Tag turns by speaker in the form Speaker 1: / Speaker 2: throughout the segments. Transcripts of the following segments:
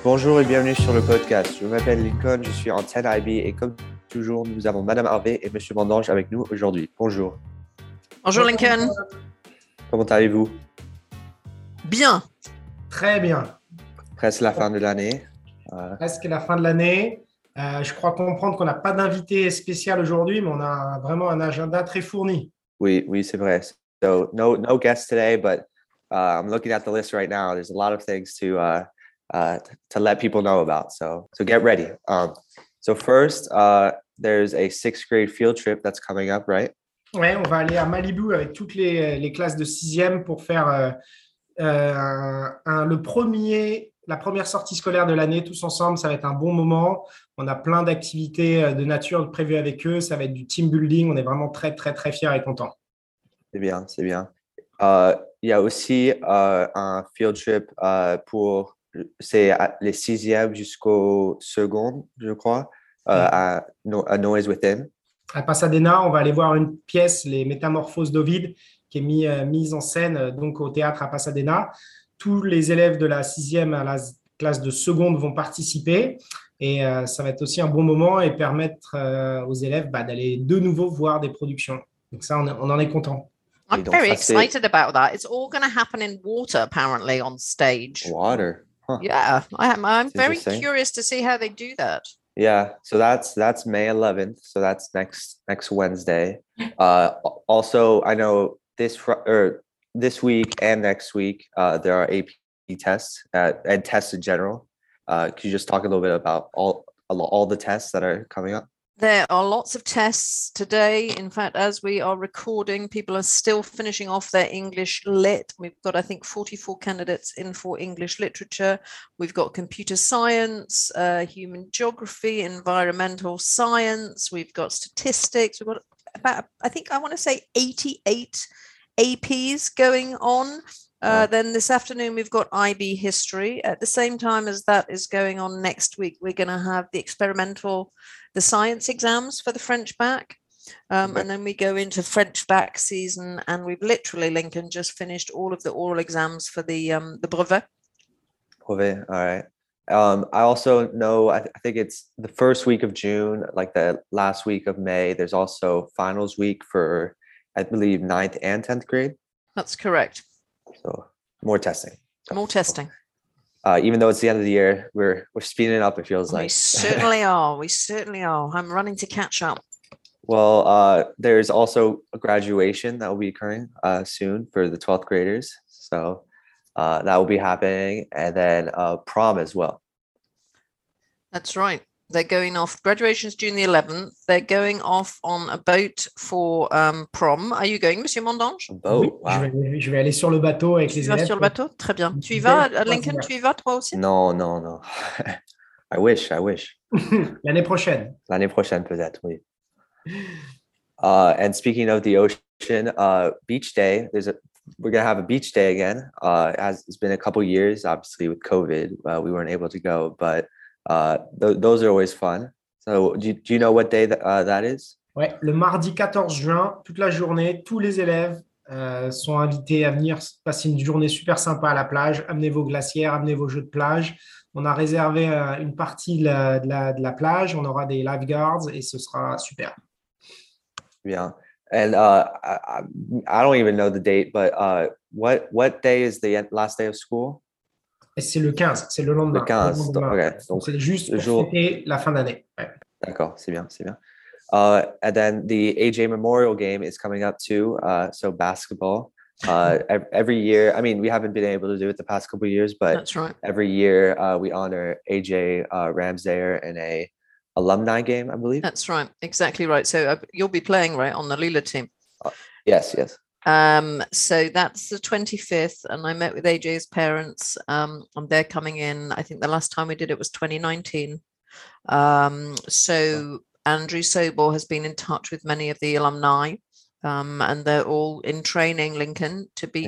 Speaker 1: Bonjour et bienvenue sur le podcast. Je m'appelle Lincoln, je suis en 10IB et comme toujours, nous avons Madame Harvey et Monsieur Mandange avec nous aujourd'hui. Bonjour.
Speaker 2: Bonjour Lincoln.
Speaker 1: Comment allez-vous?
Speaker 2: Bien.
Speaker 3: Très bien.
Speaker 1: Presque la fin de l'année.
Speaker 3: Presque la fin de l'année. Je crois comprendre qu'on n'a pas d'invité spécial aujourd'hui, mais on a vraiment un agenda très fourni.
Speaker 1: Oui, c'est vrai. So no guests today, but I'm looking at the list right now. There's a lot of things to let people know about. So get ready. So first, there's a sixth grade field trip that's coming up, right?
Speaker 3: Ouais, on va aller à Malibu avec toutes les classes de sixième pour faire la première sortie scolaire de l'année tous ensemble. Ça va être un bon moment. On a plein d'activités de nature prévues avec eux. Ça va être du team building. On est vraiment très, très, très fiers et contents.
Speaker 1: C'est bien. Il y a aussi un field trip pour les sixièmes jusqu'au second, je crois, à Noise Within.
Speaker 3: À Pasadena, on va aller voir une pièce, Les Métamorphoses d'Ovide, qui est mise en scène donc au théâtre à Pasadena. Tous les élèves de la sixième à la classe de seconde vont participer et ça va être aussi un bon moment et permettre aux élèves d'aller de nouveau voir des productions. Donc ça, on en est content.
Speaker 2: I'm very excited about that. It's all going to happen in water, apparently, on stage.
Speaker 1: Water? Huh.
Speaker 2: Yeah, I'm very curious to see how they do that.
Speaker 1: Yeah, so that's May 11th. So that's next Wednesday. Also, I know this week and next week there are AP tests and tests in general. Could you just talk a little bit about all the tests that are coming up?
Speaker 2: There are lots of tests today. In fact, as we are recording, people are still finishing off their English Lit. We've got, I think, 44 candidates in for English literature. We've got computer science, human geography, environmental science. We've got statistics. We've got about, I want to say 88 APs going on. Then this afternoon, we've got IB history. At the same time as that is going on next week, we're going to have the science exams for the French back. And then we go into French back season, and we've literally, Lincoln, just finished all of the oral exams for the brevet.
Speaker 1: Brevet, all right. I also know, I think it's the first week of June, like the last week of May, there's also finals week for, I believe, 9th and 10th grade.
Speaker 2: That's correct.
Speaker 1: So more testing. Even though it's the end of the year, we're speeding up, it feels like.
Speaker 2: We certainly are. I'm running to catch up.
Speaker 1: Well, there's also a graduation that will be occurring soon for the 12th graders. So that will be happening. And then prom as well.
Speaker 2: That's right. They're going off. Graduation's June the 11th. They're going off on a boat for prom. Are you going, Monsieur Mandange?
Speaker 1: Boat.
Speaker 3: Oui,
Speaker 1: wow.
Speaker 3: Je vais aller sur le bateau avec les élèves.
Speaker 2: Tu vas sur le bateau? Très bien. Tu y vas, Lincoln? Tu y vas toi aussi?
Speaker 1: Non. I wish.
Speaker 3: L'année prochaine.
Speaker 1: L'année prochaine peut-être, oui. And speaking of the ocean, beach day, we're going to have a beach day again. It's been a couple years, obviously with COVID, we weren't able to go, but those are always fun. So do you know what day that is?
Speaker 3: Ouais, le mardi 14 juin, toute la journée, tous les élèves sont invités à venir passer une journée super sympa à la plage. Amenez vos glacières, amenez vos jeux de plage. On a réservé une partie de la plage. On aura des lifeguards et ce sera super.
Speaker 1: Yeah. And I don't even know the date, but what day is the last day of school?
Speaker 3: Et c'est le 15, c'est le lendemain.
Speaker 1: Le 15,
Speaker 3: okay. Donc c'est juste pour fêter la fin d'année. Ouais.
Speaker 1: D'accord, c'est bien. And then the AJ Memorial game is coming up too. So basketball. Every year, I mean, we haven't been able to do it the past couple of years, but
Speaker 2: that's right.
Speaker 1: Every year we honor AJ Ramsayer in a alumni game, I believe.
Speaker 2: That's right, exactly right. So you'll be playing, right, on the Lila team?
Speaker 1: Yes.
Speaker 2: So that's the 25th, and I met with AJ's parents, and they're coming in. I think the last time we did it was 2019. So Andrew Sobor has been in touch with many of the alumni, and they're all in training, Lincoln, to beat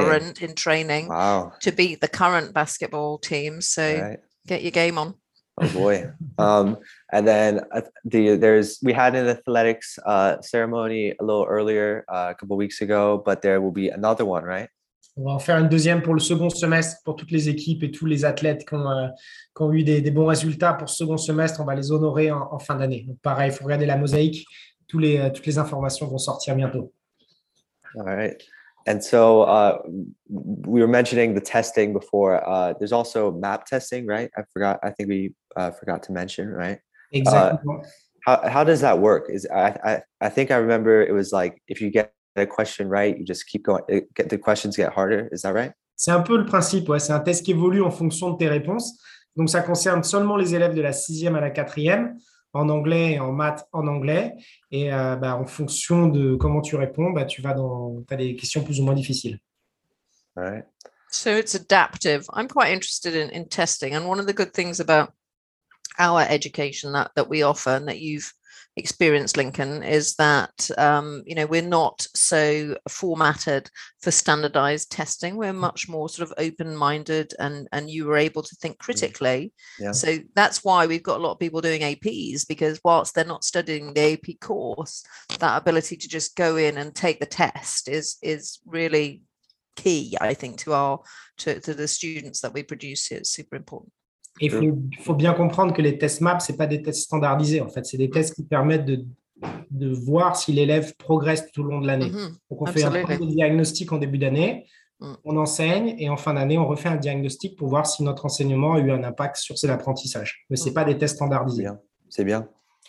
Speaker 2: to beat the current basketball team. So Get your game on.
Speaker 1: Oh boy. And then we had an athletics ceremony a little earlier, a couple of weeks ago, but there will be another one, right?
Speaker 3: On va en faire une deuxième pour le second semestre pour toutes les équipes et tous les athlètes qui ont eu des bons résultats pour ce second semestre. On va les honorer en fin d'année. Donc, pareil, il faut regarder la mosaïque. Toutes les informations vont sortir bientôt.
Speaker 1: All right. And so we were mentioning the testing before. There's also MAP testing, right? I think we forgot to mention, right?
Speaker 3: Exactement.
Speaker 1: How does that work? I think I remember it was like if you get a question right, you just keep going. The questions get harder. Is that right?
Speaker 3: C'est un peu le principe, ouais. C'est un test qui évolue en fonction de tes réponses. Donc, ça concerne seulement les élèves de la 6e à la 4e, en anglais et en maths en anglais. Et en fonction de comment tu réponds, tu as des questions plus ou moins difficiles.
Speaker 1: All right.
Speaker 2: So it's adaptive. I'm quite interested in testing. And one of the good things about our education that we offer and that you've experienced, Lincoln, is that we're not so formatted for standardized testing. We're much more sort of open-minded, and you were able to think critically.
Speaker 1: Yeah.
Speaker 2: So that's why we've got a lot of people doing APs, because whilst they're not studying the AP course, that ability to just go in and take the test is really key, I think, to the students that we produce here. It's super important.
Speaker 3: Et il faut bien comprendre que les tests MAP, ce pas des tests standardisés. En fait, c'est des tests qui permettent de voir si l'élève progresse tout au long de l'année. Donc, on fait un premier diagnostic en début d'année, on enseigne, et en fin d'année, on refait un diagnostic pour voir si notre enseignement a eu un impact sur ses apprentissages. Mais ce n'est pas des tests standardisés.
Speaker 1: C'est bien.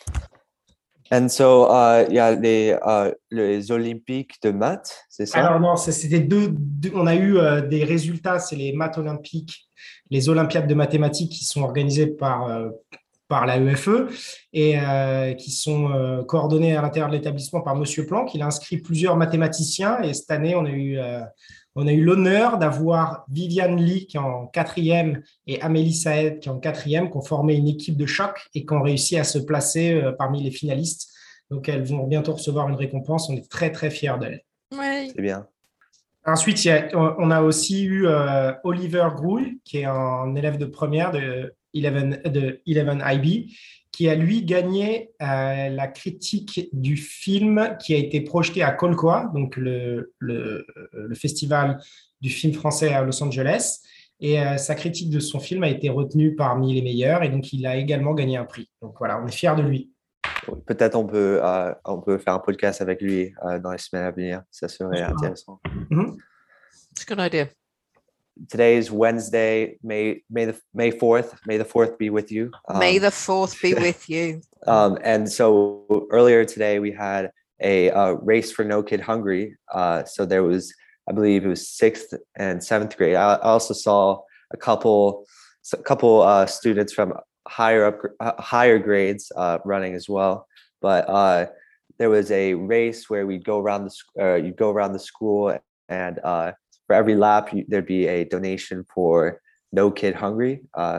Speaker 1: And so, il y a les Olympiques de maths, c'est ça?
Speaker 3: Alors non, c'était on a eu des résultats, c'est les maths olympiques, les Olympiades de mathématiques qui sont organisées par la EFE et qui sont coordonnées à l'intérieur de l'établissement par Monsieur Planck. Il a inscrit plusieurs mathématiciens et cette année, on a eu l'honneur d'avoir Viviane Lee qui est en 4e et Amélie Saed qui est en 4e, qui ont formé une équipe de choc et qui ont réussi à se placer parmi les finalistes. Donc, elles vont bientôt recevoir une récompense. On est très, très fiers d'elles.
Speaker 2: Oui.
Speaker 1: C'est bien.
Speaker 3: Ensuite, on a aussi eu Oliver Grouille, qui est un élève de première de 11 IB, qui a, lui, gagné la critique du film qui a été projeté à Colcoa, donc le festival du film français à Los Angeles. Et sa critique de son film a été retenue parmi les meilleurs. Et donc, il a également gagné un prix. Donc, voilà, on est fiers de lui.
Speaker 1: Peut-être on peut faire un podcast avec lui dans les semaines à venir. Ça serait intéressant.
Speaker 2: It's a good idea.
Speaker 1: Today is Wednesday, May the 4th. May the 4th be with you.
Speaker 2: May the 4th be with you.
Speaker 1: And so earlier today we had a race for No Kid Hungry. So there was, I believe it was 6th and 7th grade. I also saw a couple students from higher grades running as well. But there was a race where you'd go around the school, and for every lap there'd be a donation for No Kid Hungry.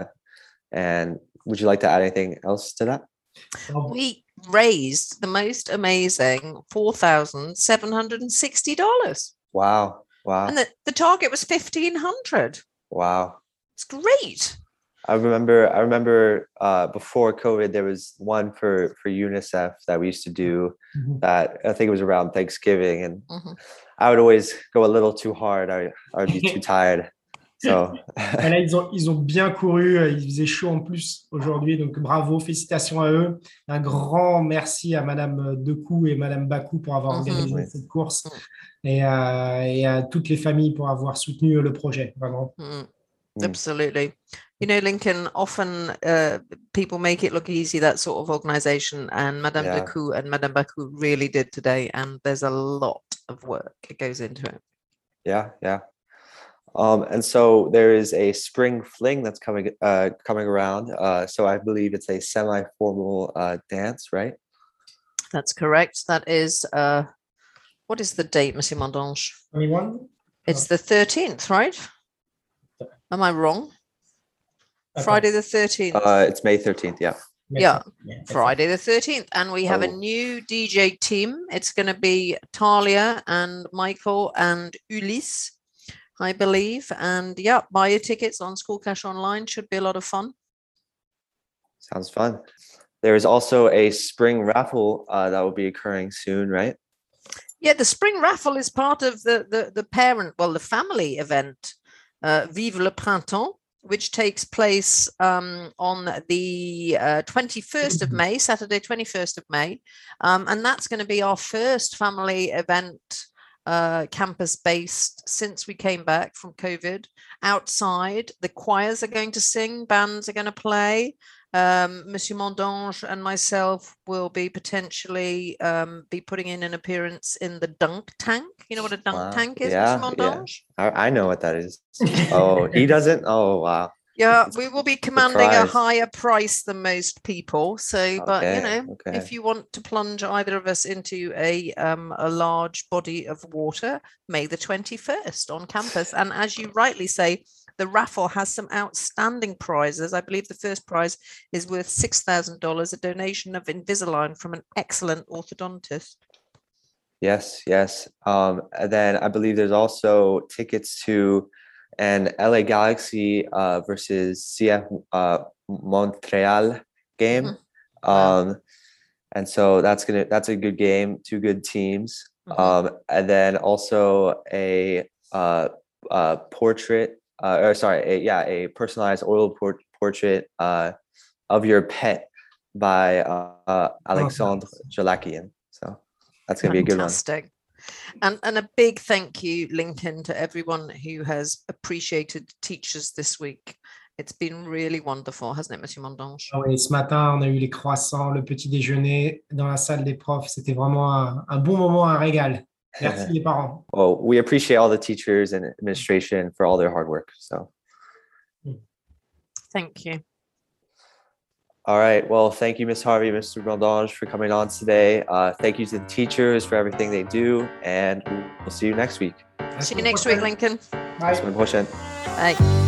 Speaker 1: And would you like to add anything else to that?
Speaker 2: We raised the most amazing $4,760.
Speaker 1: Wow.
Speaker 2: And the target was 1,500.
Speaker 1: Wow.
Speaker 2: It's great.
Speaker 1: I remember before COVID, there was one for UNICEF that we used to do that I think it was around Thanksgiving, and I would always go a little too hard. I would be too tired. So.
Speaker 3: Là, ils ont bien couru. Il faisait chaud en plus aujourd'hui, donc bravo, félicitations à eux. Un grand merci à Madame Decou et Madame Bakou pour avoir organisé cette course et à toutes les familles pour avoir soutenu le projet, vraiment.
Speaker 2: Absolutely. You know, Lincoln, often people make it look easy, that sort of organization, and Madame Decou and Madame Bakou really did today, and there's a lot of work that goes into it.
Speaker 1: Yeah. And so there is a spring fling that's coming around. So I believe it's a semi-formal dance, right?
Speaker 2: That's correct. That is, what is the date, Monsieur Mondange?
Speaker 3: 21?
Speaker 2: It's the 13th, right? Am I wrong? Friday the 13th.
Speaker 1: It's May 13th, yeah.
Speaker 2: Yeah, Friday the 13th. And we have a new DJ team. It's going to be Talia and Michael and Ulysse, I believe. And buy your tickets on School Cash Online. Should be a lot of fun.
Speaker 1: Sounds fun. There is also a spring raffle that will be occurring soon, right?
Speaker 2: Yeah, the spring raffle is part of the family event, Vive le Printemps, which takes place on the 21st of May, Saturday, 21st of May. And that's going to be our first family event, campus-based, since we came back from COVID. Outside, the choirs are going to sing, bands are going to play. Monsieur Mondange and myself will be potentially be putting in an appearance in the dunk tank. You know what a dunk tank is, Monsieur Mondange?
Speaker 1: Yeah. I know what that is. Oh, he doesn't? Oh, wow.
Speaker 2: Yeah, we will be commanding a higher price than most people. So, but if you want to plunge either of us into a large body of water, May the 21st on campus. And as you rightly say, the raffle has some outstanding prizes. I believe the first prize is worth $6,000, a donation of Invisalign from an excellent orthodontist.
Speaker 1: Yes. And then I believe there's also tickets to an LA Galaxy versus CF Montreal game. And so that's a good game, two good teams. And then also a portrait, a personalized oil portrait of your pet by Alexandre Jalakian. So that's going to be a good one.
Speaker 2: Fantastic. And a big thank you, Lincoln, to everyone who has appreciated teachers this week. It's been really wonderful, hasn't it, Monsieur Mondange?
Speaker 3: Oui, ce matin, on a eu les croissants, le petit déjeuner dans la salle des profs. C'était vraiment un bon moment, un régal. Merci les parents.
Speaker 1: Well, we appreciate all the teachers and administration for all their hard work. So,
Speaker 2: thank you.
Speaker 1: All right. Well, thank you, Ms. Harvey, Mr. Mondange, for coming on today. Thank you to the teachers for everything they do, and we'll see you next week.
Speaker 2: See you next week, Lincoln.
Speaker 3: Bye.
Speaker 1: Bye.